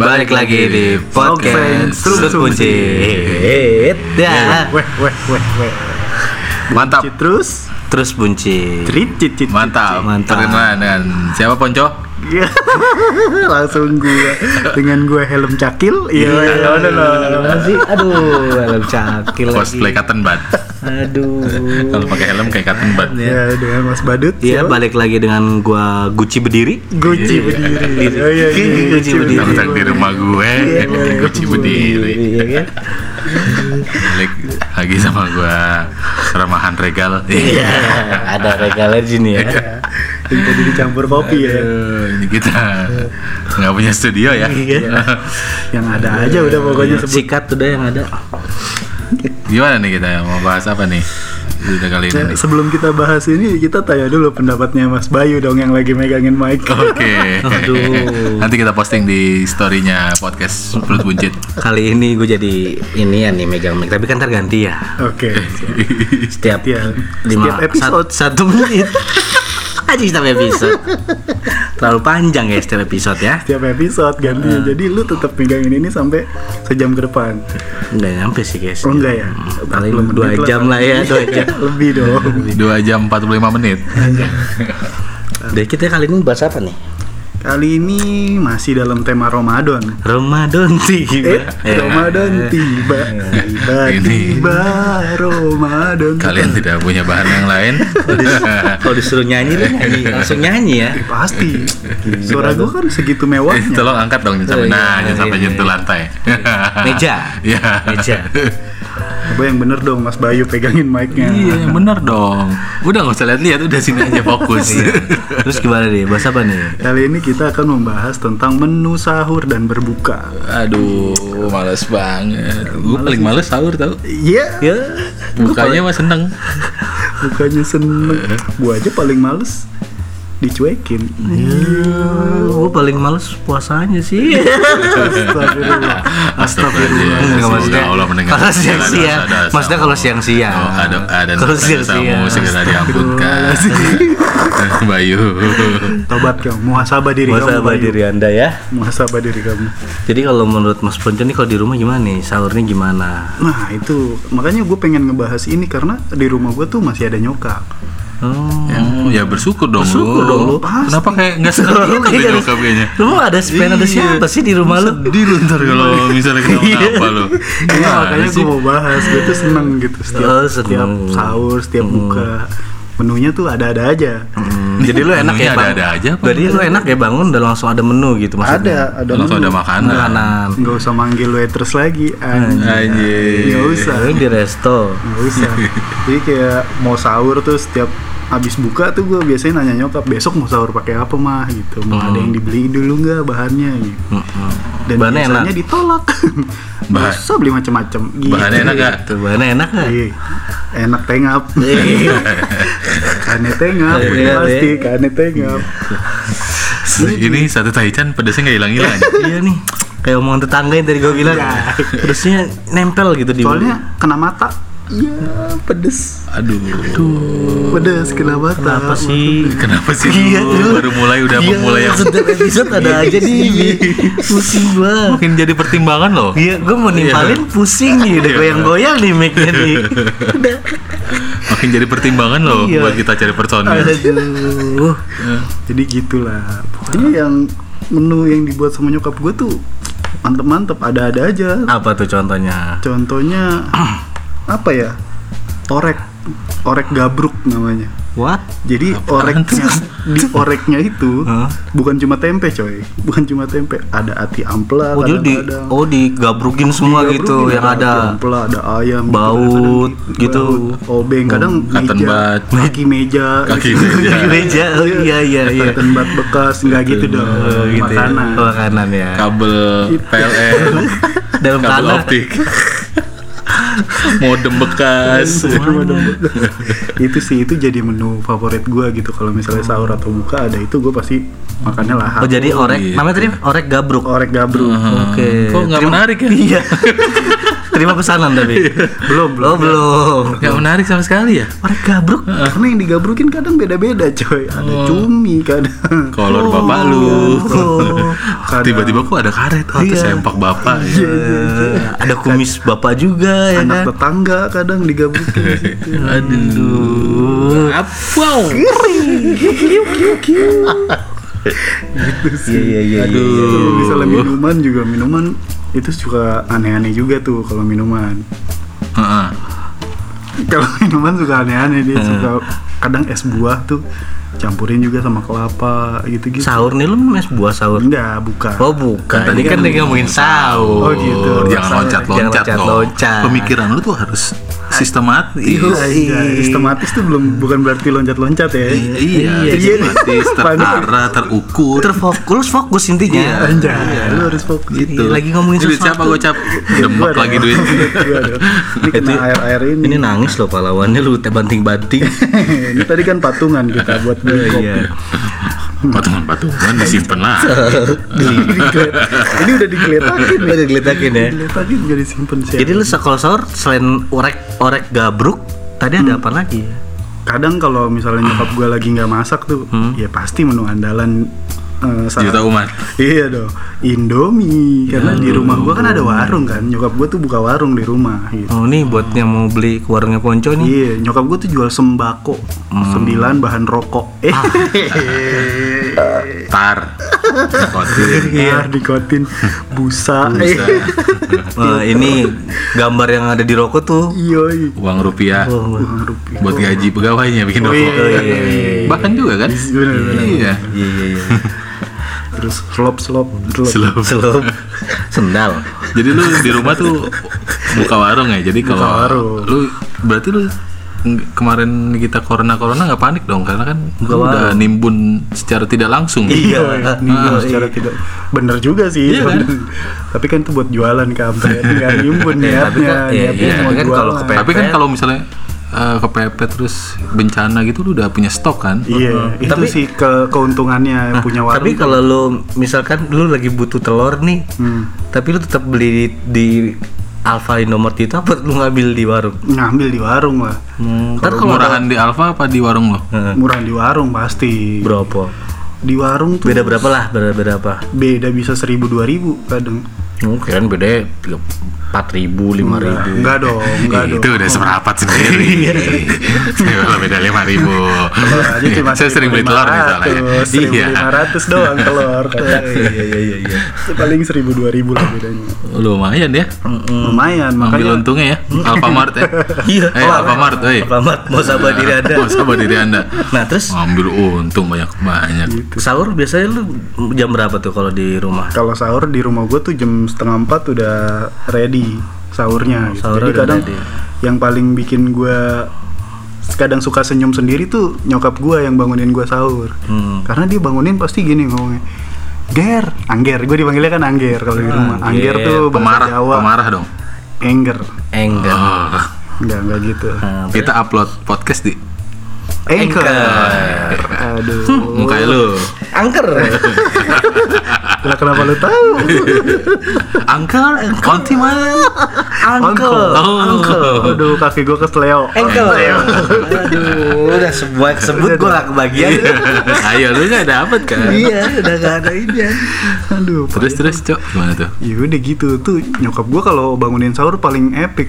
Balik lagi di podcast Sudut Kunci. Mantap. Terus bunci. Mantap. Mantap. Perkenalan dengan siapa Ponco? Langsung dengan gue helm cakil. Iya. Masih aduh, helm cakil lagi. Cosplay cotton bud. Aduh. Kalau pakai helm kayak cotton bud. Ya, dengan Mas Badut. Iya, balik lagi dengan gua Gucci berdiri. Gucci berdiri. Oh iya, Gucci berdiri. Datang di rumah gue, Gucci berdiri. Iya kan? Balik lagi sama gue remahan regal. Iya, ada regalnya di sini ya. Yang tadi dicampur kopi ya. Ini kita nggak punya studio ya. Yang ada aja udah pokoknya sebut. Sikat udah yang ada. Gimana nih kita mau bahas apa nih? Udah kali ini. Nah, sebelum kita bahas ini, kita tanya dulu pendapatnya Mas Bayu dong yang lagi megangin mic. Oke. Aduh. Nanti kita posting di story-nya podcast Perut Buncit. Kali ini gue jadi ini ya nih megang mic, tapi kan terganti ya. Oke. Setiap Setiap episode. satu menit. Aja setiap episode. Terlalu panjang ya setiap episode ya. Setiap episode ganti. Jadi lu tetap megangin ini sampai sejam ke depan. Enggak nyampe sih guys. Oh enggak ya? Paling 40 menit 2 jam lah ya, 2 jam. Lebih dong. 2 jam 45 menit. Deh kita kali ini bahas apa nih? Kali ini masih dalam tema Ramadan. Ramadan tiba. Ramadan tiba. Tiba Ramadan. Kalian tidak punya bahan yang lain? Kalau disuruh nyanyi lu nyanyi, langsung nyanyi ya. Pasti. Suara gua kan segitu mewahnya. Tolong angkat dong sampai jangan sampai iya. nyentuh lantai. Meja. Iya. Meja. Coba yang bener dong Mas Bayu pegangin mic-nya. Iya, bener dong. Udah nggak usah lihat-lihat, udah sini aja fokus. Terus gimana nih? Bahas apa nih? Kali ini kita akan membahas tentang menu sahur dan berbuka. Aduh, males banget. Gue paling males sahur tau. Iya, Ya, Bukanya mah seneng. bukannya seneng. Gua aja paling males dicuekin. gue paling males puasanya sih. Astagfirullah. Astagfirullah. Enggak, maksudnya Allah mendengar. kalau siang-siang. Maksudnya kalau siang-siang. Oh, ada Kalau siang-siang. segera diamputkan. Bayu. Tobat kamu, muhasabah diri kamu. Muhasabah Bayu. diri Anda ya. Muhasabah diri kamu. Jadi kalau menurut Mas Ponco nih kalau di rumah gimana nih? Sahurnya gimana? Nah itu, makanya gue pengen ngebahas ini karena di rumah gue tuh masih ada nyokap. Oh, ya bersyukur dong. Bersyukur dong lu. Kenapa kayak nggak seneng gitu deh nyokap kayaknya? Lu mau ada spend ada siapa sih di rumah lu? Sedih lu ntar kalau misalnya kenapa lu. Iya, makanya gue mau bahas, gue tuh seneng gitu Oh, setiap seneng. sahur, setiap buka. Menunya tuh ada-ada aja. Jadi lu enak Menunya ya bang? ada-ada aja apa? Jadi lu enak ya bangun udah langsung ada menu gitu maksudnya? Ada Langsung menu. ada makanan. Nggak usah manggil waiters lagi. Anjir. Nggak usah. Lu di resto. Nggak usah. Jadi kayak mau sahur tuh setiap habis buka tuh gue biasanya nanya nyokap besok mau sahur pakai apa mah gitu. Mau ada yang dibeli dulu nggak bahannya gitu. Dan Bahannya biasanya enak? ditolak. Nggak usah beli macam-macam. Gitu. Bahannya enak gak? Tuh bahannya enak gak? Iya. Enak tengap. Kane tengap. Iya, Pasti kane tengap. Ini satu taichan pedasnya nggak hilang-hilang. Iya nih. Kayak omongan tetangga yang tadi gue bilang. Terusnya nempel gitu di Soalnya kena mata. Iya, pedes. Aduh. Pedes kena mata. Kenapa sih? Kenapa sih Iya, lu baru mulai udah memulai yang setiap episode ada aja nih. Pusing gua. makin jadi pertimbangan loh. Iya, gue mau nimpalin pusing nih, udah goyang-goyang nih mic-nya nih. Udah. Makin jadi pertimbangan loh Iya. buat kita cari personil. Aduh. Jadi gitulah. Pokoknya yang menu yang dibuat sama nyokap gue tuh mantep-mantep, ada-ada aja. Apa tuh contohnya? Contohnya apa ya? Orek gabruk namanya. What? Jadi oreknya di oreknya itu Hah? bukan cuma tempe coy, bukan cuma tempe, ada ati ampela, Oh, jadi digabrukin semua gitu yang ati ada ampela, ada ayam, baut gitu. baut, obeng, kadang cotton meja, bud. kaki meja, Kaki gitu. meja. Meja. Oh iya iya iya. cotton bud bekas, nggak gitu dong, Oh, gitu ya. makanan. Makanan ya. Kabel PLN, Dalam kabel tanah. optik, modem bekas. Itu sih, itu jadi menu favorit gue gitu. Kalau misalnya sahur atau buka ada itu, gue pasti makannya lahap. Oh jadi orek, gitu. namanya tadi orek gabruk. Orek gabruk. Oke. Kok nggak Terima- menarik ya? Iya. Terima pesanan tapi. Belum. Oh, belum. Gak menarik sama sekali ya. Orek gabruk. Karena yang digabrukin kadang beda-beda coy. Ada cumi kadang. Kolor bapak lu. Kadang Tiba-tiba kok ada karet, Iya. sempak bapak. Ada kumis bapak juga ya anak kan. tetangga kadang digabrukin di situ. Aduh. Wow. Iya. Kalau misalnya minuman itu suka aneh-aneh juga tuh kalau minuman. Heeh. Kalau minuman suka aneh-aneh dia suka kadang es buah tuh campurin juga sama kelapa gitu-gitu. Sahur nih lu minum es buah sahur. Enggak, bukan. Oh bukan, tadi kan lagi ngomongin sahur. Oh, gitu. Jangan loncat-loncat Jangan loh. loncat-loncat. Pemikiran lu tuh harus sistematis. Iya, sistematis tuh bukan berarti loncat-loncat ya. Iya, sistematis, terarah, terukur. Fokus intinya. Anjay, lu harus fokus Gitu. Lagi ngomongin Duit sesuatu. siapa gocap? Demek lagi duit. Gua dong. Ini kena air-air ini. Ini nangis loh pahlawannya lu banting-banting. Ini tadi kan patungan kita buat beli kopi. Iya. Patungan disimpan lah. Ini udah digeletakin nih. Udah digeletakin ya. Digeletakin gak disimpan sih. Jadi lu kalau sahur selain orek gabruk, tadi ada apa lagi? Kadang kalau misalnya nyokap gue lagi nggak masak tuh, ya pasti menu andalan saat- Juta umat. Iya dong, Indomie. Karena di rumah gue kan ada warung kan, nyokap gue tuh buka warung di rumah gitu. Oh nih buat yang mau beli ke warungnya Ponco nih. Iya, nyokap gue tuh jual sembako, 9 bahan rokok. Tar. Kotin. Dikotin busa. Ini gambar yang ada di rokok tuh. Iya. Uang rupiah. Uang rupiah. Buat gaji pegawainya bikin rokok. iya. Bahkan juga kan? Bener-bener. Iya. Iya. Terus slop. Slow. Selop. Sendal. Jadi lu di rumah tuh buka warung ya. Jadi kalau warung. lu berarti lu kemarin kita corona nggak panik dong karena kan Buka lu udah warung. nimbun secara tidak langsung. Iya. Nimbun secara tidak bener juga sih. Iya kan? Tapi kan itu buat jualan kampret, nggak nimbun niatnya. Niatnya iya. mau Tapi kan jualan. kalau kepepet- Tapi kan kalau misalnya kepepet terus bencana gitu lu udah punya stok kan? Iya, itu Tapi- sih keuntungannya punya warung. Tapi kalau lu misalkan lu lagi butuh telur nih, tapi lu tetap beli di Alfa Indomart itu apa lu ngambil di warung? ngambil di warung lah. Ntar kalau Murahan di Alfa apa di warung lo? Murah di warung pasti. berapa? Di warung tuh Beda berapa lah? Beda berapa? beda bisa 1.000-2.000 kadang. Kirain beda 4.000, 5.000. Enggak dong. Itu udah seperempat sendiri. Kalau beda 5.000. Telur aja cuma Saya sering beli telur misalnya. 1.500 doang telur. Iya. Paling 1.000-2.000 lah bedanya. Lumayan ya. Lumayan, Ambil makanya untungnya ya. Alfamart ya. Iya. Alfamart, Alfamart mau sabar diri Anda. Oh, sabar diri Anda. Nah, terus Ambil untung banyak. sahur biasanya lu jam berapa tuh kalau di rumah? kalau sahur di rumah gue tuh jam 3:30 udah ready sahurnya gitu. Sahurnya Jadi udah kadang ready. yang paling bikin gue kadang suka senyum sendiri tuh nyokap gue yang bangunin gue sahur. Karena dia bangunin pasti gini ngomongnya, Angger, gue dipanggilnya kan Angger kalau di rumah. Angger tuh bahasa Jawa. Pemarah dong. Engger. Enggak. Oh, Enggak gitu. kita upload podcast di Anchor. Aduh. muka lu. Angker. Lah kenapa lu tahu? Angker, konti mana? Angkel. Aduh, kaki gue kesleo. Angkel. Aduh, udah sebut gue gak kebagian. Ayo lu nggak dapet kan? Iya, udah gak ada ini. Aduh. Terus cok gimana tuh? Ya udah gitu tuh nyokap gua kalau bangunin sahur paling epic.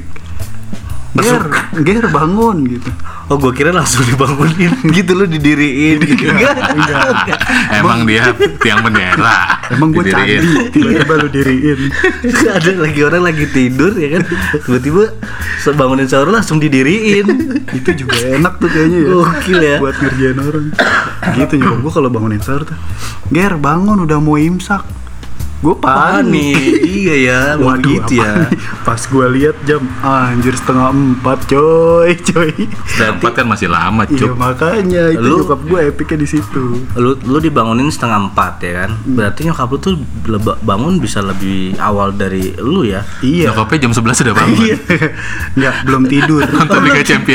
Ger bangun gitu. Oh, gue kira langsung dibangunin gitu, lu didiriin gitu. Enggak. Emang dia tiang bendera. Emang gua Didiriin. candi, tiba-tiba lu diriin. Ada lagi orang lagi tidur ya kan, tiba-tiba bangunin sahur langsung didiriin. Itu juga enak tuh kayaknya ya. Gokil ya. Buat ngerjain orang. Gitu nyokap gua kalau bangunin sahur tuh. Ger bangun udah mau imsak. Gue panik. Iya ya, Waduh, gitu ya. apa nih? Pas gue lihat jam, anjir 3:30 coy. Tempat kan masih lama Iya cuk. makanya itu Lu- nyokap gue epicnya di situ. Lu dibangunin 3:30 ya kan? Berarti nyokap lu tuh bangun bisa lebih awal dari lu ya? Iya. Nyokapnya jam 11 sudah bangun. Iya. Nggak, belum tidur. Nonton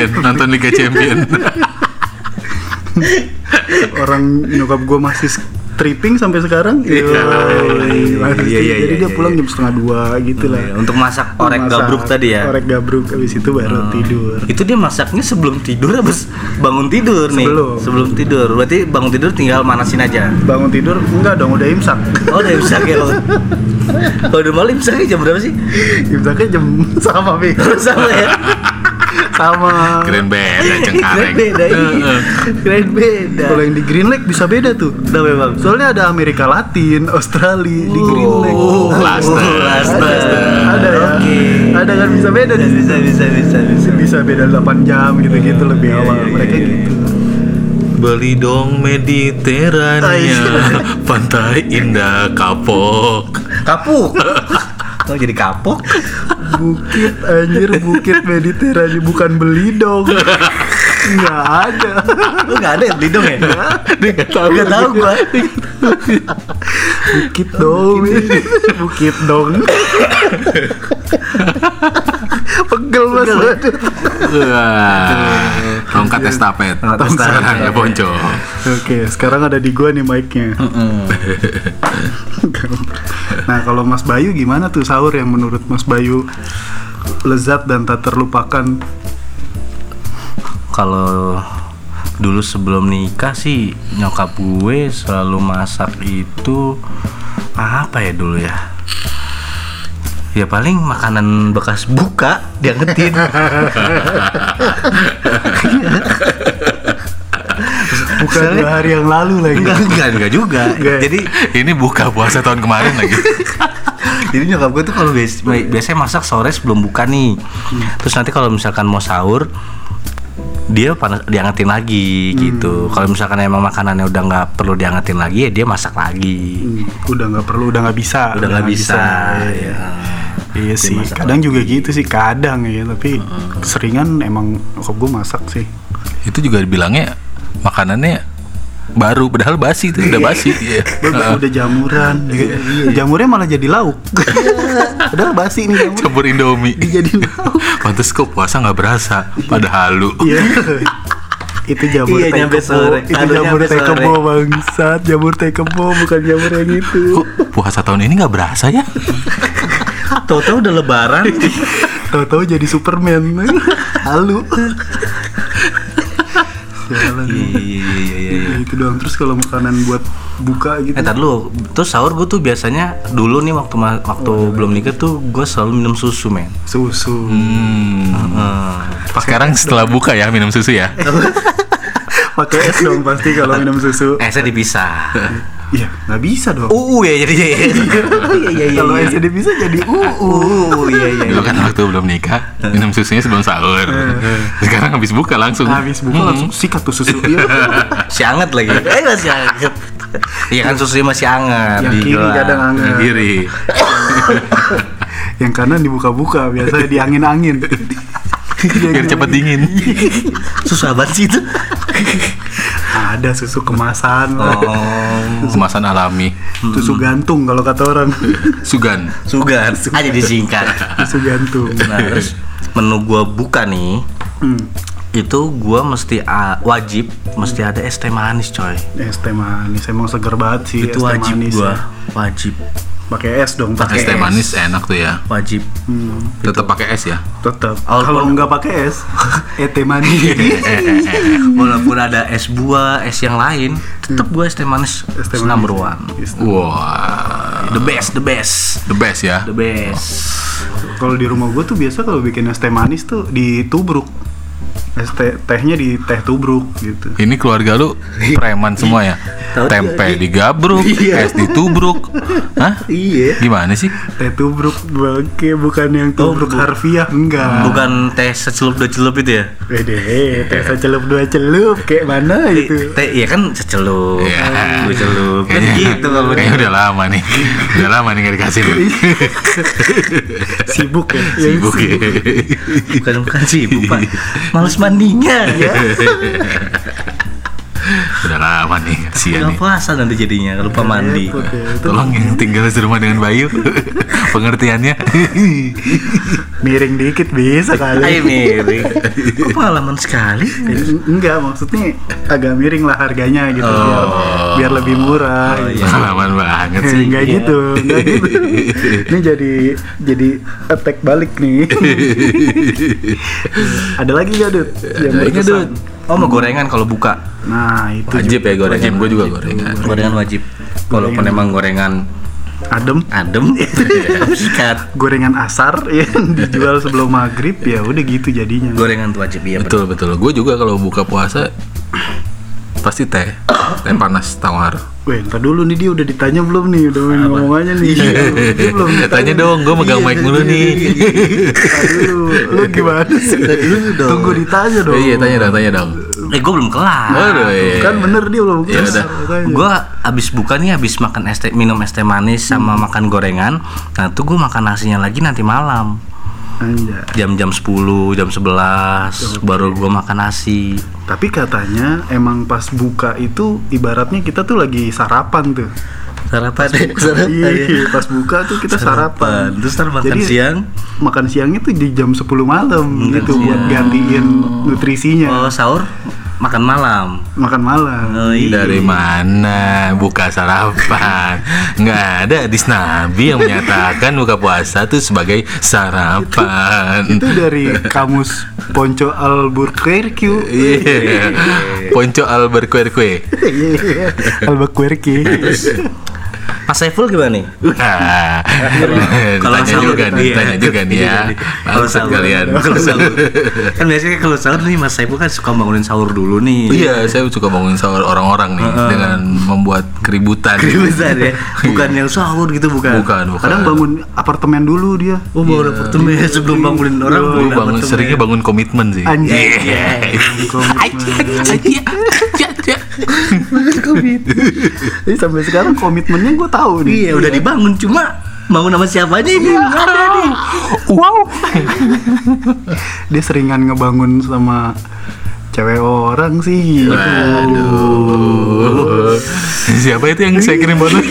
Liga Champion. Orang nyokap gue masih tripping sampai sekarang. Iya. Jadi dia pulang jam 1:30 gitu lah. Untuk masak orek gabruk tadi ya. Orek gabruk, habis itu baru tidur. Itu dia masaknya sebelum tidur habis bangun tidur nih. Sebelum tidur. Berarti bangun tidur tinggal manasin aja. Bangun tidur enggak dong, udah imsak. Oh, udah imsak ya. Kalau udah malam imsaknya jam berapa sih? Imsaknya jam sama, Bi. Sama ya. Sama. Keren beda Cengkareng. Keren beda. Kalau yang di Green Lake bisa beda tuh. Udah memang. Soalnya ada Amerika Latin, Australia di Green Lake. Ada ya. Ada kan bisa beda di situ. Bisa beda 8 jam gitu-gitu lebih awal. Mereka gitu. Beli dong Mediterania, pantai indah kapok. Kapuk. Oh, jadi kapok. Bukit anjir, bukit Mediterania bukan beli dong. Nggak ada. Lu nggak ada yang beli dong ya? Nggak tahu gua. Bukit dong. Bukit dong. Pegel mas. Tongkat estafet. Sekarang ya ponco. Oke, sekarang ada di gua nih mic-nya. Nah, kalau Mas Bayu gimana tuh sahur yang menurut Mas Bayu lezat dan tak terlupakan? Kalau dulu sebelum nikah sih nyokap gue selalu masak itu apa ya dulu ya? Ya paling makanan bekas buka diangetin. Bukan 2 hari yang lalu lagi. Enggak juga. Jadi Ini buka puasa tahun kemarin lagi. jadi nyokap gue tuh kalau biasanya masak sore sebelum buka nih. Terus nanti kalau misalkan mau sahur dia diangetin lagi gitu. Kalau misalkan emang makanannya udah nggak perlu diangetin lagi ya dia masak lagi. Udah nggak perlu, udah nggak bisa. Udah nggak bisa. Ya. Iya sih. Kadang juga gitu sih, kadang ya. Tapi keseringan emang nyokap gue masak sih. Itu juga dibilangnya makanannya baru, padahal basi itu udah basi. Udah jamuran. Jamurnya malah jadi lauk. Padahal basi nih jamur. Campur Indomie. Dijadiin lauk. Pantes kok puasa nggak berasa, padahal lu. Iya. Itu jamur Iya, teh nyampe kebo. sore. Itu Aduh, jamur nyampe teh sore. kebo bangsat. Jamur teh kebo bukan jamur yang itu. Kok puasa tahun ini nggak berasa ya? Tahu-tahu udah lebaran. Tahu-tahu jadi Superman. Halu. Iya. Itu doang. Terus kalau makanan buat buka gitu. Tar dulu, terus sahur gue tuh biasanya dulu nih waktu belum nikah tuh gue selalu minum susu men. Susu. Sekarang setelah buka ya minum susu ya. Pakai es dong pasti kalau minum susu. Esnya dipisah. Iya, nggak bisa dong. Ya jadi iya. Kalau esnya bisa jadi Iya. Dulu kan waktu belum nikah minum susunya sebelum sahur. Sekarang habis buka langsung. Habis buka langsung sikat tuh susu. Iya. Si anget lagi. Masih anget. Iya kan susunya masih anget. Yang kiri kadang anget. Yang kiri. Yang kanan dibuka-buka, biasanya diangin-angin. Biar cepat dingin. Susah banget sih itu. Ada susu kemasan. Kemasan alami. Susu gantung kalau kata orang. Sugan. Sugan aja disingkat. Susu gantung. Nah, terus menu gua buka nih. Itu gua mesti wajib mesti ada es teh manis coy. Es teh manis emang seger banget sih. Itu es teh wajib manis gua. ya. Wajib. Pakai es dong. Es teh manis enak tuh ya. Wajib. Tetap pakai es ya. Tetap. Walaupun- Kalau nggak pakai es, teh manis. Walaupun ada es buah, es yang lain, tetap gua es teh manis. Es teh Number manis. one. Wah, The best. the best ya. The best. Kalau di rumah gue tuh biasa kalau bikin es teh manis tuh ditubruk. Tehnya di teh tubruk gitu. Ini keluarga lu preman semua ya? Tempe digabruk, es ditubruk. Hah? Iya. Gimana sih? Teh tubruk bangke, bukan yang tubruk harfiah, enggak. Bukan teh secelup dua celup itu ya? Wede, teh secelup dua celup kayak mana itu? Teh iya kan secelup. Iya. Dua celup. Kan gitu kalau Kayaknya udah lama nih. Udah lama nih nggak dikasih nih. Sibuk ya. Sibuk ya. Bukan sibuk Pak. Males mandinya ya. Udah lama nih, kasihan Nggak nih. puasa nanti jadinya lupa mandi. Repot ya. Itu Tolong yang tinggal serumah dengan Bayu, pengertiannya. miring dikit bisa kali. Ayo miring. Kok pengalaman sekali? Enggak, maksudnya agak miring lah harganya gitu biar lebih murah. gitu. Pengalaman banget sih. Enggak gitu, enggak gitu. Ini jadi attack balik nih. Ada lagi nggak, Dut? Yang Ada lagi, berkesan? Dut. Oh, mau gorengan kalau buka. Nah, itu Wajib ya gorengan, gue juga Wajib. gorengan. Gorengan wajib. Walaupun emang gorengan adem. sikat. Gorengan asar yang dijual sebelum maghrib ya udah gitu jadinya. Gorengan tuh wajib ya. Betul betul. Gue juga kalau buka puasa pasti teh panas tawar. Weh, ntar dulu nih, dia udah ditanya belum nih, udah ngomongannya nih. Dia belum ditanya. Tanya dong, gue megang mic mulu nih. Aduh, lu gimana sih? Tunggu ditanya dong. Iya, tanya dong. Gue belum kelar. Aduh, iya. Kan bener dia belum Ya kelar, udah. makanya. Gue abis buka nih, abis makan minum es teh manis sama makan gorengan. Nah tuh gue makan nasinya lagi nanti malam. Anjay. Jam 10, jam 11 baru gue makan nasi. Tapi katanya emang pas buka itu ibaratnya kita tuh lagi sarapan tuh. Sarapan. Iya, pas buka tuh kita sarapan. Terus ntar makan Jadi, siang. Makan siangnya tuh di jam 10 malam Makan gitu buat siang. gantiin nutrisinya. Oh, sahur makan malam. Makan malam. Oh, iya. Dari mana buka sarapan? Nggak ada hadis Nabi yang menyatakan buka puasa tuh sebagai sarapan. Itu dari kamus Ponco Albuquerque. Iya. Ponco Albuquerque. Albuquerque. Mas Saiful gimana nih? Nah, Kalau tanya sahur, juga nih, iya. tanya juga nih ya. Kalau Bangsat sahur, kalian. kalau sahur. Kan biasanya kalau sahur nih Mas Saiful kan suka bangunin sahur dulu nih. Iya, saya suka bangunin sahur orang-orang nih dengan membuat keributan. Besar ya. Bukan yang sahur gitu, bukan. Bukan. Kadang bangun apartemen dulu dia. Oh, bangun apartemen sebelum bangunin orang. Dulu bangun seringnya bangun komitmen sih. Anjay. Jadi sampai sekarang komitmennya gue tahu nih. Iya, udah dibangun, cuma bangun sama siapanya ini nggak ada nih. Wow. Dia seringan ngebangun sama cewek orang sih. Waduh. Siapa itu yang saya kirim foto?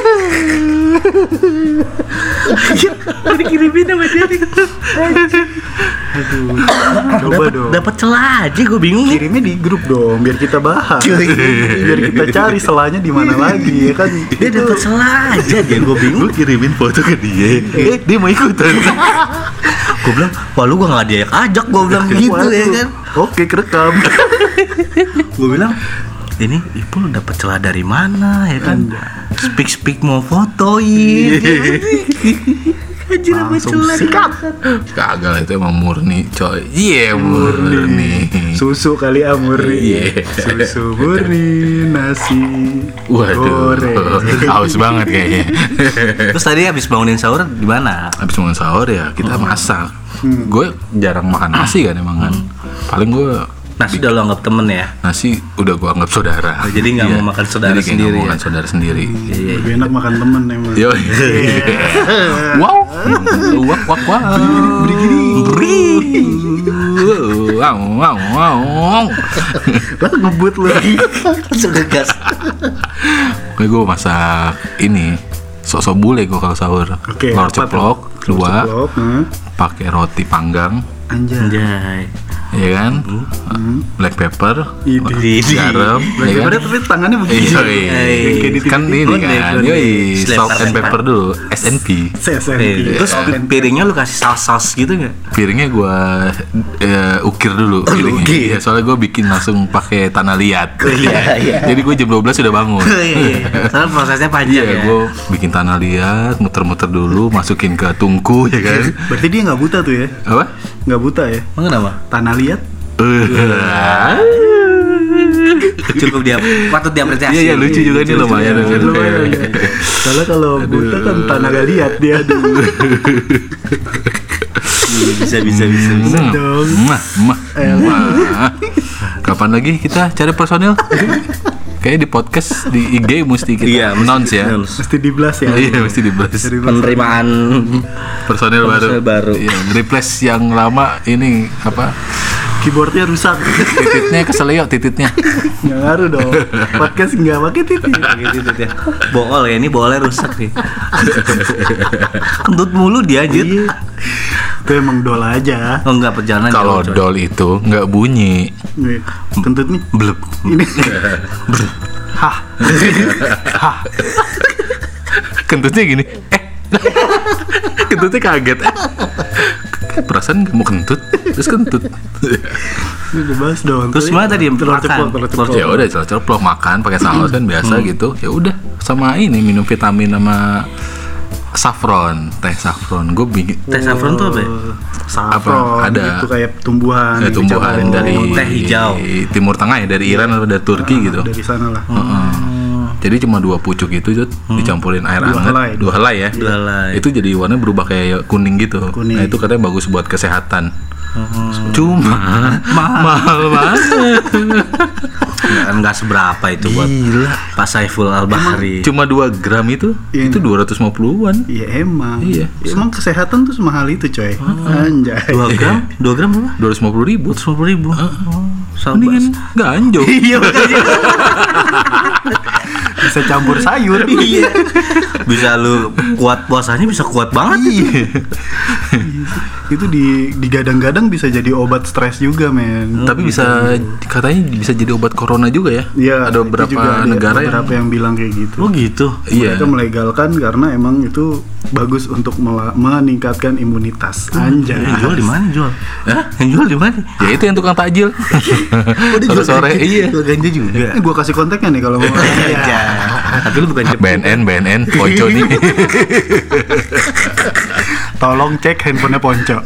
Dikirimin sama dia nih. Coba dong. Dapat celah aja, gue bingung nih. Kirimnya di grup dong, biar kita bahas. Biar kita cari selanya di mana lagi ya kan. Dia dapat celah aja dia, gue bingung. Gue kirimin foto ke dia. Dia mau ikutan. Gue bilang, wah lu gue nggak diajak ajak, gue bilang gitu ya kan. Oke, kerekam. Gue bilang, ini Ipul dapat celah dari mana ya kan? Speak mau fotoin. Anjir apa Langsung celah? sikat. Kagak lah, itu emang murni coy. Iya murni. Susu kali murni. Iya. Susu murni, nasi Waduh, goreng. haus banget kayaknya. Terus tadi habis bangunin sahur di mana? Habis bangun sahur ya kita masak. Gue jarang makan nasi kan emang kan. Paling gue Nasi udah lo anggap temen ya? nasi udah gue anggap saudara. Oh, jadi nggak mau makan saudara Jadi kayak sendiri nggak mau ya? makan saudara sendiri. Lebih enak makan temen emang. Yo. Wow. Wak wak wak. Wow wow wow. Lah ngebut lu. Langsung ngegas. Gue masak ini sok-sok bule gue kalau sahur. Oke, Telur apa ceplok tuh? dua, Ceplok, pakai roti panggang, Anjay. Anjay. ya kan? Black pepper, Idi. garam, Black ya kan? pepper tapi tangannya begini. Iya, Kayak di kan TV. ini kan, yoi, salt and Selempar. pepper dulu, SNP. Terus piringnya lu kasih saus gitu nggak? Piringnya gue ukir dulu piringnya. ukir. Ya, soalnya gue bikin langsung pakai tanah liat. Iya. Jadi gue jam 12 sudah bangun. Soalnya prosesnya panjang Iya, ya. gue bikin tanah liat, muter-muter dulu, masukin ke tungku ya kan. Berarti dia nggak buta tuh ya? Apa? Nggak buta ya? Emang kenapa? Tanah liat. Cukup dia patut diapresiasi. Iya, lucu juga nih lumayan. Lumayan. Soalnya kalau buta kan tanah gak liat dia. Bisa. dong. Mah. Kapan lagi kita cari personil? Kayak di podcast di IG mesti kita announce ya. Mesti diblas ya. Iya, mesti dibahas. Penerimaan Personil Personil baru. Iya, replace yang lama ini apa? Keyboardnya rusak. Tititnya keselio tititnya. Nggak ngaruh dong. Podcast nggak pakai titit. Gitu ya. Bool ya, ini boolnya rusak nih. Kentut mulu dia anjir. Iya. Itu emang dol aja. Oh enggak, perjalanan Kalau jauh, coy. dol itu nggak bunyi. Nih, kentut nih. Blep. Ini. Hah. Hah. Kentutnya gini. Kentutnya kaget. Perasaan nggak mau kentut, terus kentut. Ini udah bahas dong. Terus mana tadi yang telur makan? ceplok, telur ceplok. Ya udah ceplok makan pakai saus kan biasa gitu. Ya udah sama ini minum vitamin sama saffron, teh saffron. Gue bikin Teh saffron tuh apa ya? Saffron, Apa? Ada. itu kayak tumbuhan. yang tumbuhan dicampur. dari teh hijau. Timur Tengah ya, dari Iran atau dari Turki gitu. Dari sana lah. Jadi cuma 2 pucuk itu Jod, dicampurin air Dua hangat, helai. 2 helai ya. Dua helai. Itu jadi warna berubah kayak kuning gitu. Kuning. Nah, itu katanya bagus buat kesehatan. Cuma mahal banget. Enggak seberapa itu buat Gila. Pak Saiful Al-Bahri. Cuma 2 gram itu Iya. itu 250-an. Iya emang. Iya. Emang kesehatan tuh semahal itu coy. Anjay. 2 gram? 2 gram berapa? 250.000. 150.000. Mendingan ganjo. Iya makanya. Bisa campur sayur. Iya. Bisa lu kuat puasanya, bisa kuat banget. Iya. Itu digadang-gadang bisa jadi obat stres juga men. Tapi bisa katanya bisa jadi obat corona juga ya. Iya. Ada itu beberapa juga ada negara beberapa yang bilang kayak gitu. Oh gitu. Iya. Mereka melegalkan karena emang itu bagus untuk meningkatkan imunitas. Anjay. Yang jual di mana jual? Hah? Yang jual di mana? Ya itu yang tukang takjil. Sore-sore iya. Jual ganja juga. Gua kasih kontaknya nih kalau mau. Iya. Tapi lu bukan cepu. BNN, Ponco nih. Tolong cek handphonenya Ponco.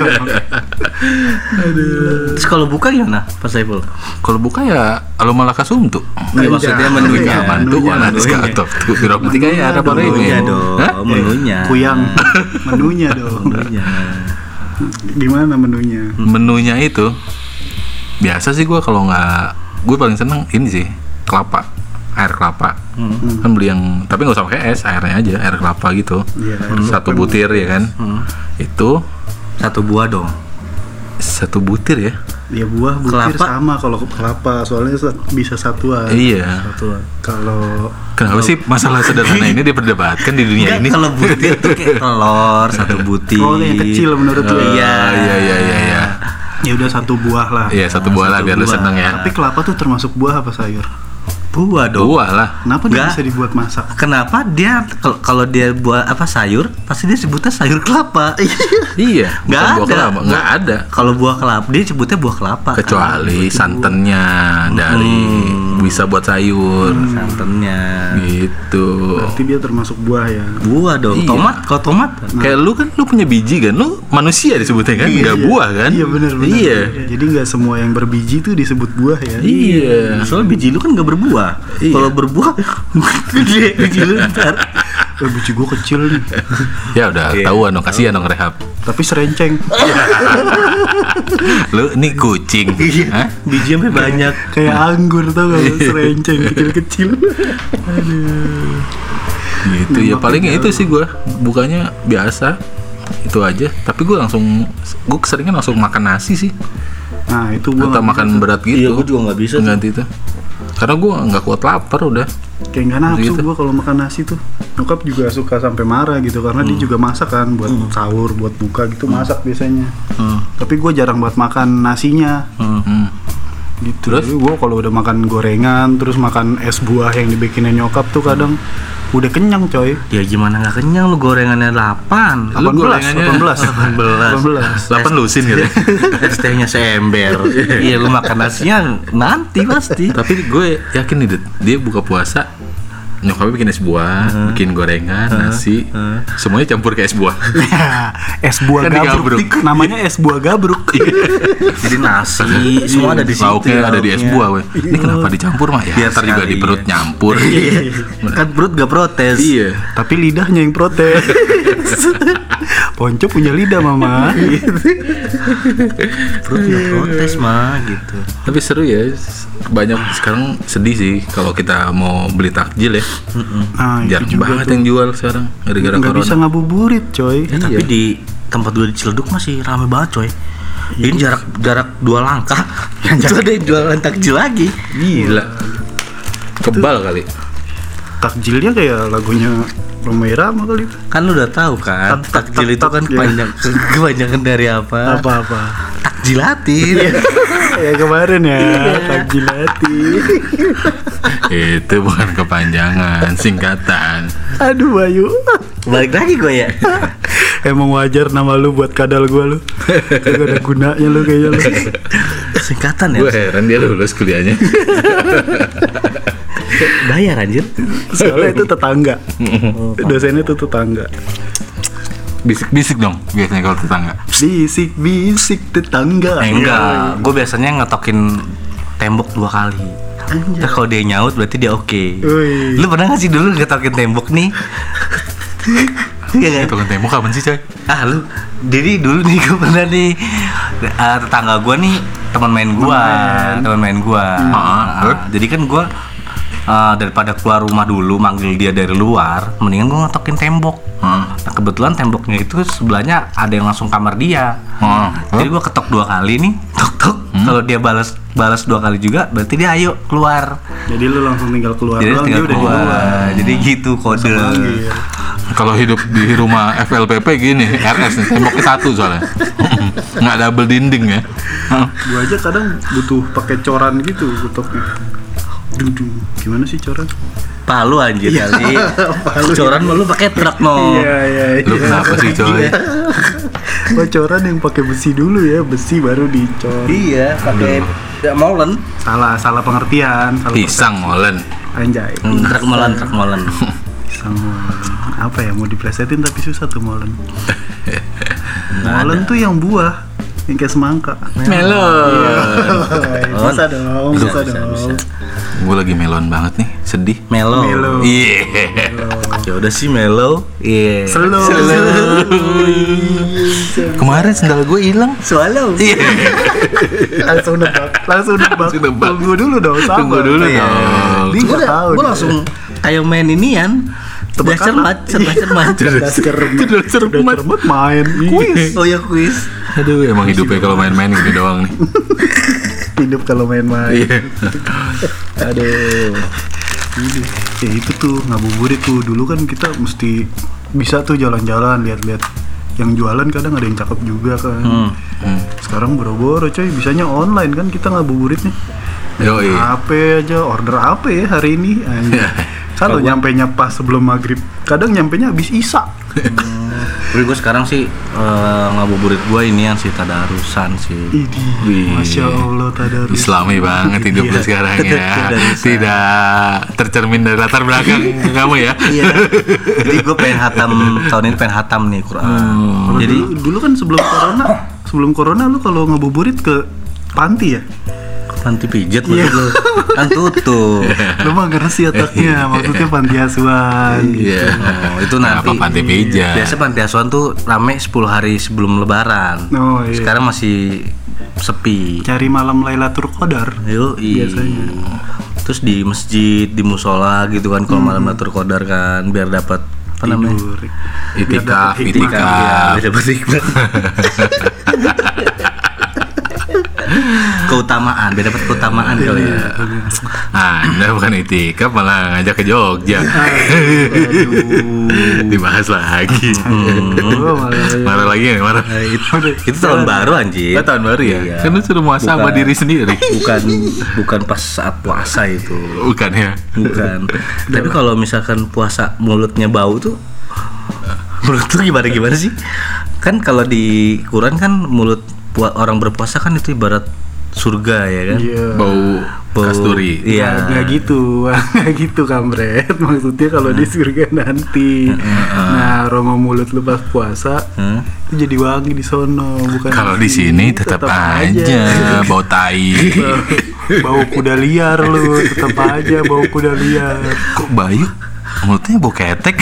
Terus kalau buka gimana Pak Saiful? Kalau buka ya alo malaka sumtu. Nggak, maksudnya menunya. Mantu Menunya. mana skatok tuh biro ketika ya ada apa Menunya ini? dong. Hah? Menunya. Kuyang. Menunya dong. Menunya. Gimana menunya? Menunya itu biasa sih gue kalau nggak, gue paling seneng ini sih kelapa, air kelapa. Kan beli yang tapi nggak usah pakai es, airnya aja, air kelapa gitu. Iya, Satu butir ya kan. Itu 1 buah dong. 1 butir ya. Ya buah butir Kelapa? sama kalau kelapa soalnya bisa satuan. Iya. Kalau Kenapa sih masalah sederhana ini diperdebatkan di dunia ini? Kalau butir tuh kayak telur 1 butir. Oh, yang kecil menurut lu. Iya. Iya. Ya udah 1 buah lah. Iya, 1 buah lah 1 biar lu buah. seneng ya. Tapi kelapa tuh termasuk buah apa sayur? Buah dong. Buah lah. Kenapa dia Nggak. bisa dibuat masak? Kenapa dia kalau dia buat apa sayur, pasti dia sebutnya sayur kelapa. Iya, bukan Nggak buah ada. kelapa, nggak ada. Kalau buah kelapa dia sebutnya buah kelapa. Kecuali santannya dari bisa buat sayur. Santannya. Gitu. Berarti dia termasuk buah ya. Buah dong. Iya. Tomat, kalau tomat Kayak lu kan lu punya biji kan, lu manusia disebutnya kan, nggak buah kan? Iya benar. Iya. Jadi nggak semua yang berbiji tuh disebut buah ya. Iya. soalnya biji lu kan nggak berbuah. Iya. Kalau berbuah gede biji lu ntar. Biji gua kecil nih. Ya udah Iya. tahuan dong, kasihan dong Rehab. Tapi serenceng. Lu nih kucing. Hah? Biji sampai banyak. Kayak anggur tau gak lu? Serenceng kecil-kecil. Gitu ya palingnya itu sih gua bukanya biasa itu aja. Tapi gua keseringan langsung makan nasi sih. Nah itu gua Atau nggak makan bisa. berat gitu. Iya, gua juga nggak bisa tuh. Ganti itu. Karena gua nggak kuat lapar udah. Kayak nggak nafsu Gitu. gua kalau makan nasi tuh. Nyokap juga suka sampai marah gitu karena dia juga masak kan buat sahur, buat buka gitu masak biasanya. Tapi gua jarang buat makan nasinya. Hmm. Gitu. Terus? Jadi gua kalau udah makan gorengan, terus makan es buah yang dibikinin nyokap tuh kadang udah kenyang coy. Ya gimana nggak kenyang lu gorengannya 8. Lu gorengannya 18. 8 lusin gitu. Es tehnya seember. Iya lu makan nasinya nanti pasti. Tapi gue yakin nih Dut, dia buka puasa nyokapnya bikin es buah, bikin gorengan, nasi, semuanya campur ke es buah. Es buah Kan gabruk. digabruk. Namanya es buah gabruk. Jadi nasi semua ada di situ. Lauknya ada di es lauknya. buah, weh. Ini kenapa dicampur mah? Ya, Biar ntar juga di sekali, perut ya. nyampur. Kan perut gak protes. Iya. Tapi lidahnya yang protes. Ponco punya lidah mama. Perut gak protes mah gitu. Tapi seru ya. Banyak sekarang sedih sih kalau kita mau beli takjil ya. Nah, Jarang itu juga banget tuh. yang jual sekarang gara-gara Nggak bisa corona. ngabuburit coy. Ya, tapi di tempat gue di Ciledug masih rame banget coy. Ini jarak 2 langkah. Itu ada yang jualan takjil lagi. Gila. Kebal kali. Takjilnya kayak lagunya Roma Irama kali itu. Kan lu udah tahu kan, takjil itu kan kepanjangan dari apa? Apa-apa. Takjilatin. Ya kemarin ya, takjilati. Itu bukan kepanjangan, singkatan. Aduh Bayu. Balik lagi gue ya. Emang wajar nama lu buat kadal gua lu. Gak ada gunanya lu kayaknya lu. Singkatan ya. Gue heran dia lulus kuliahnya. Bayar anjir. Soalnya itu tetangga. Dosennya tuh tetangga. Bisik-bisik dong biasanya kalau tetangga. Bisik-bisik tetangga. Enggak, gue biasanya ngetokin tembok 2 kali. Nah, kalau dia nyaut berarti dia oke. Wih. Lu pernah gak sih dulu ngetokin tembok nih? Iya kan? Tukang tembok kapan sih coy? Lu jadi dulu nih gue pernah nih tetangga gue nih teman main gue. Jadi kan gue daripada keluar rumah dulu manggil dia dari luar, mendingan gue ngetokin tembok. Nah kebetulan temboknya itu sebelahnya ada yang langsung kamar dia. Jadi gue ketok 2 kali nih, tok. Kalau dia balas 2 kali juga, berarti dia ayo keluar. Jadi lu langsung tinggal keluar. Jadi doang, tinggal dia udah di luar. Jadi gitu kode. Kalau hidup di rumah FLPP gini, RS nih, temboknya 1 soalnya. Nggak double dinding ya. Gua aja kadang butuh pakai coran gitu ketoknya. Gimana sih coran? Palu anjir kali. Coran lu pakai truk no. Iya. Lu kenapa sih coy? Gua coran yang pakai besi dulu ya, besi baru dicor. Iya, pakai molen. Salah pengertian. Salah Pisang molen. Anjay. Truk molen. Pisang molen. Apa ya mau diplesetin tapi susah tuh molen. Molen tuh yang buah, yang kayak semangka. Melon. Bisa dong. Gue lagi melon banget nih, sedih. Melo. Iya. Ya udah sih melo. Iya. Slow. Kemarin sendal gue hilang. Swallow. Iya. Langsung nebak. Tunggu dulu dong. Gue langsung kayak main inian. Cermat. Main kuis. Oh ya kuis. Aduh, emang hidupnya kalau main-main gini doang nih. Hidup kalau main-main. Iya. Aduh. Ya itu tuh ngabuburit tuh. Dulu kan kita mesti bisa tuh jalan-jalan lihat-lihat yang jualan, kadang ada yang cakep juga kan. Sekarang boro-boro coy, bisanya online kan kita ngabuburitnya. Yoi. HP aja, order apa ya hari ini? Kalau nyampenya pas sebelum maghrib, kadang nyampenya habis isya. Tapi gue sekarang sih ngabuburit gue ini yang sih tadarusan sih. Idih, Masya Allah tadarus. Islami banget hidup lu sekarang ya. Tidak tercermin dari latar belakang kamu ya. Iya. Jadi gue pengen tahun ini pengen hatam nih Quran. Jadi dulu kan sebelum corona lu kalau ngabuburit ke panti ya? Panti pijat maksud lu. Kan tutup. Lu mah ngerti otaknya, maksudnya panti asuhan. Iya. Itu nanti. Apa panti pijat? Biasa panti asuhan tuh rame 10 hari sebelum lebaran. Oh iya. Sekarang masih sepi. Cari malam Lailatul Qadar. Biasanya. Terus di masjid, di musola gitu kan kalau malam Lailatul Qadar kan biar dapat apa namanya? Itikaf. Biar dapat hikmah. Keutamaan, biar dapat keutamaan kali ya. Anda bukan itikaf malah ngajak ke Jogja. Dibahas lagi. Marah lagi ya, marah. Itu tahun baru anjir. Tahun baru ya? Iya. Kan lu suruh muasa sama diri sendiri. Bukan pas saat puasa itu. Bukan ya? Bukan. Tapi kalau misalkan puasa mulutnya bau tuh, menurut lu gimana sih? Kan kalau di Quran kan mulut orang berpuasa kan itu ibarat surga ya kan? Iya. Bau kasturi. Iya. Nggak gitu kampret. Maksudnya kalau di surga nanti. Nah, aroma mulut lu pas puasa itu jadi wangi di sono, bukan. Kalau di sini tetap aja bau tai. Bau kuda liar lu, tetap aja bau kuda liar. Kok Bayu mulutnya bau ketek?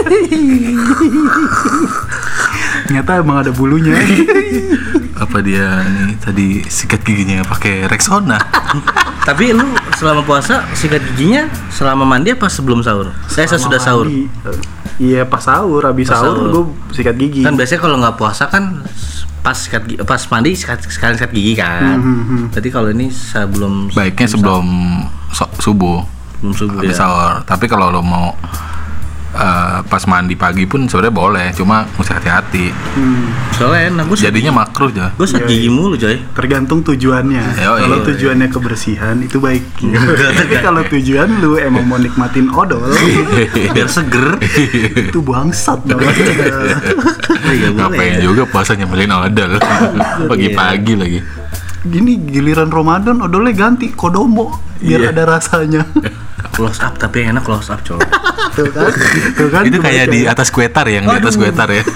Ternyata emang ada bulunya. Apa dia nih tadi sikat giginya pakai Rexona? Tapi lu selama puasa sikat giginya selama mandi apa sebelum sahur? Saya sudah sahur. Iya pas sahur, habis sahur gue sikat gigi. Kan biasanya kalau nggak puasa kan pas mandi sekalian sikat gigi kan. Berarti kalau ini sebelum Baiknya sebelum subuh. Belum subuh Habis ya. sahur. Tapi kalau lo mau pas mandi pagi pun sebenarnya boleh, cuma mesti hati-hati. Soalnya enak gue Jadinya makruh aja. gue sikat gigi mulu coy. Tergantung tujuannya. Kalau tujuannya kebersihan itu baik. Tapi kalau tujuan lu emang mau nikmatin odol, Biar seger. itu bangsat banget. Ngapain juga puasa nyebelin odol pagi-pagi lagi. Gini giliran Ramadan odolnya ganti kodomo biar ada rasanya. Close up tapi yang enak close up coy. Tuh kan. Itu kayak di atas kuetar ya, yang di atas kuetar ya.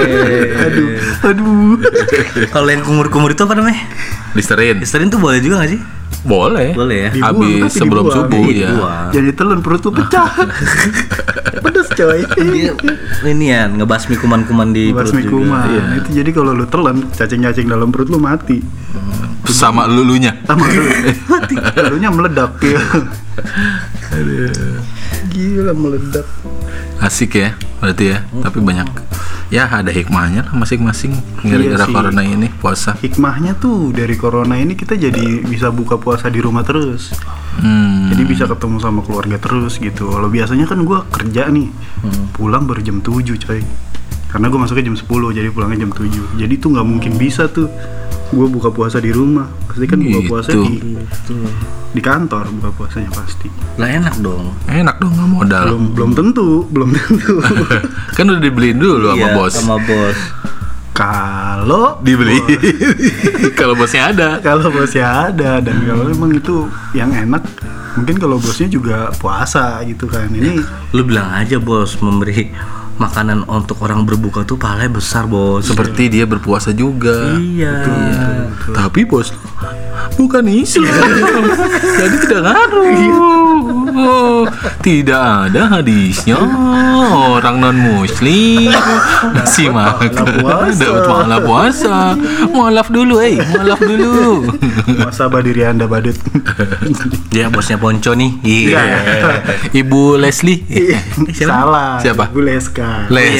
Aduh. Kalau yang kumur-kumur itu apa namanya? Listerin. Listerin tuh boleh juga gak sih? Boleh. Boleh ya. Dibuang, Habis tapi sebelum dibuang. subuh ya. Dibuang. Jadi telan perut lu pecah. Pedes coy. Dia ini ya ngebasmi kuman-kuman di perut Basmi juga. kuman. Iya. Itu jadi kalau lu telan, cacing-cacing dalam perut lu mati. Sama lulunya. Sama lu. Lalunya meledak ya. Gila meledak. Asik ya, berarti ya. Tapi banyak ya ada hikmahnya lah masing-masing gara-gara sih. corona ini puasa. Hikmahnya tuh dari corona ini kita jadi bisa buka puasa di rumah terus. Jadi bisa ketemu sama keluarga terus gitu. Kalau biasanya kan gue kerja nih, pulang baru jam 7 coy. Karena gue masuknya jam 10, jadi pulangnya jam 7. Jadi tuh nggak mungkin bisa tuh gue buka puasa di rumah. Pasti kan buka puasa Gitu. di kantor buka puasanya pasti. Lah enak dong. Enak dong, nggak modal. Belum tentu. Kan udah dibeliin dulu sama Iya, bos. sama bos. Kalau Dibeli. Kalau bosnya ada. kalau bosnya ada dan kalau memang itu yang enak, mungkin kalau bosnya juga puasa gitu kan. Ini Lu bilang aja bos memberi makanan untuk orang berbuka tuh pahalanya besar bos. Seperti dia berpuasa juga. Iya. Tapi bos bukan Islam. Jadi tidak ngaruh. Tidak ada hadisnya orang non muslim masih makan dapat pahala puasa. Mualaf dulu, mualaf dulu. muasabah diri Anda badut. Dia bosnya Ponco nih. Iya. Ibu Leslie. Salah. Siapa? Bu Leska.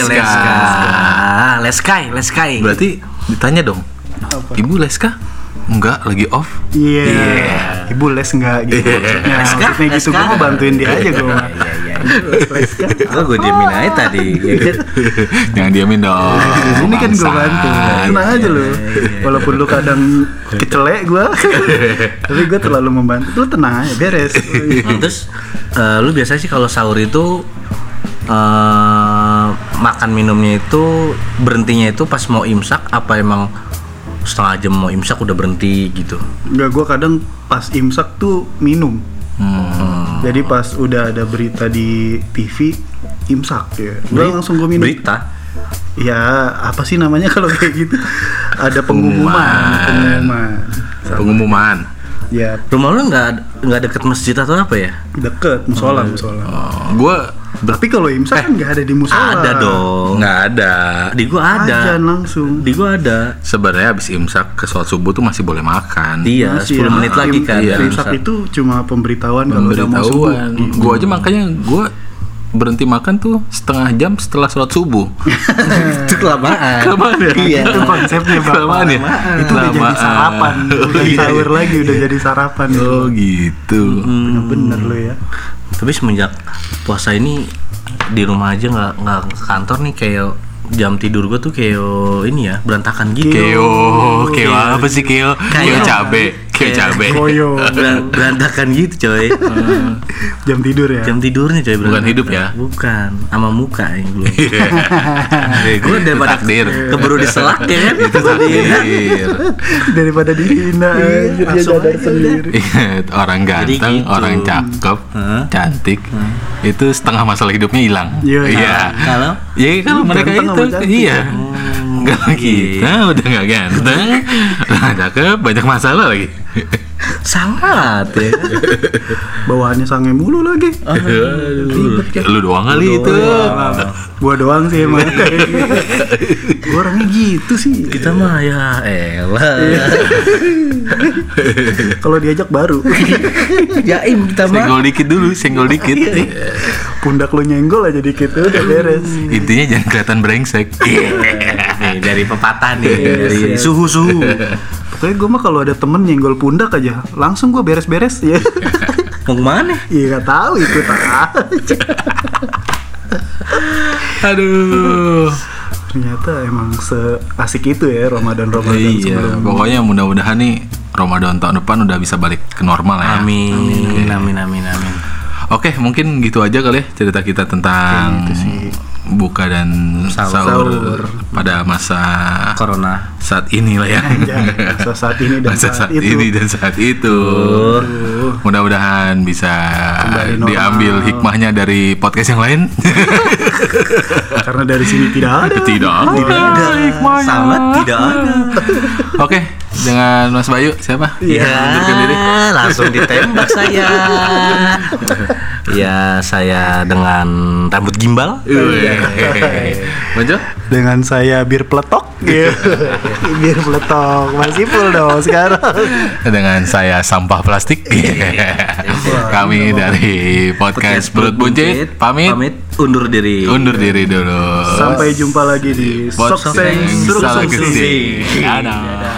Leskai. Berarti ditanya dong. Ibu Leska? Enggak, lagi off. Iya. Ibu les enggak gitu. Nah, Leska? maksudnya gitu gue mau bantuin dia aja gue. Leska. Gue diamin aja tadi. Ya kan? Jangan diamin dong. Ini kan gue Bangsat. bantu. Tenang aja lu. Walaupun lu kadang kecelek gue, tapi gue terlalu membantu. Lu tenang aja, beres. Terus lu biasanya sih kalau sahur itu makan minumnya itu berhentinya itu pas mau imsak apa emang setengah jam mau imsak udah berhenti gitu? Enggak, gue kadang pas imsak tuh minum. Jadi pas udah ada berita di TV imsak ya, gue langsung gue minum. Berita? Ya apa sih namanya kalau kayak gitu? Ada pengumuman. Ya Oh, Oh, Rumah lu nggak deket masjid atau apa ya? deket musola. Gue Tapi kalau imsak kan nggak ada di musola. Ada dong. nggak ada. Di gua ada. Ajan langsung. Di gua ada. Sebenarnya habis imsak ke sholat subuh tuh masih boleh makan. Iya, Masih 10 menit ya. lagi kan. Iya. dari Imsak imsak. itu cuma pemberitahuan kalau udah mau subuh. Pemberitahuan. Gue aja makanya gue berhenti makan tuh setengah jam setelah sholat subuh. Itu kelamaan. Kelamaan ya? Iya. Itu konsepnya Bapak. Kelamaan ya? Itu udah jadi Kelamaan. sarapan. Udah Iya. sahur lagi udah jadi sarapan. Oh gitu. Bener-bener lo ya. Tapi semenjak puasa ini di rumah aja nggak ke kantor nih, kayak jam tidur gua tuh kayak ini ya berantakan gitu. Keo apa sih keo? Keo cabe. Koyo. Berantakan gitu coy. Jam tidur ya. Jam tidurnya coy Bukan berantakan. hidup ya? Bukan, sama muka yang belum. Gue daripada takdir. keburu diselak ya kan. Itu takdir. Daripada dihina anjir, dia Langsung sadar aja sendiri. Orang ganteng, Jadi gitu. orang cakep, cantik, itu setengah masalah hidupnya hilang. Iya. Kalau Ya kalau mereka Ganteng sama itu, cantik. iya. Kalau kita udah nggak ganteng, udah cakep, banyak masalah lagi. sangat ya. Bawaannya sange mulu lagi. Ribet kan. Lu doang kali itu. Gua doang sih emang. Gua orangnya gitu sih. Kita mah ya elah. Kalau diajak baru. Jaim kita mah. Senggol dikit dulu, senggol dikit. Pundak lu nyenggol aja dikit udah beres. Intinya jangan kelihatan brengsek. dari pepatah nih, dari suhu-suhu. Pokoknya gue mah kalau ada temen nyenggol pundak aja, langsung gue beres-beres ya. Mau kemana? Iya nggak tahu itu aja. Aduh. Ternyata emang seasik itu ya Ramadan Iya, sebelum. pokoknya mudah-mudahan nih Ramadan tahun depan udah bisa balik ke normal ya. Amin. Oke, mungkin gitu aja kali ya cerita kita tentang Gitu sih. buka dan sahur pada masa Corona. saat inilah ya. Masa saat ini dan Masa saat saat itu. ini dan saat itu. Mudah-mudahan bisa Kembali normal. diambil hikmahnya dari podcast yang lain. Karena dari sini tidak ada. Tidak ada hikmahnya. Sangat tidak ada. Oke, dengan Mas Bayu siapa? Iya, Mundurkan diri. langsung ditembak saya. Ya, saya dengan rambut gimbal. Bonjo? Dengan saya bir peletok. Bir peletok masih full dong sekarang. Dengan saya sampah plastik. Kami dari podcast Perut Buncit pamit. Undur diri. Undur diri dulu. Sampai jumpa lagi di Podcast Sokseng Salah Serungsung. Kesing. Dadah.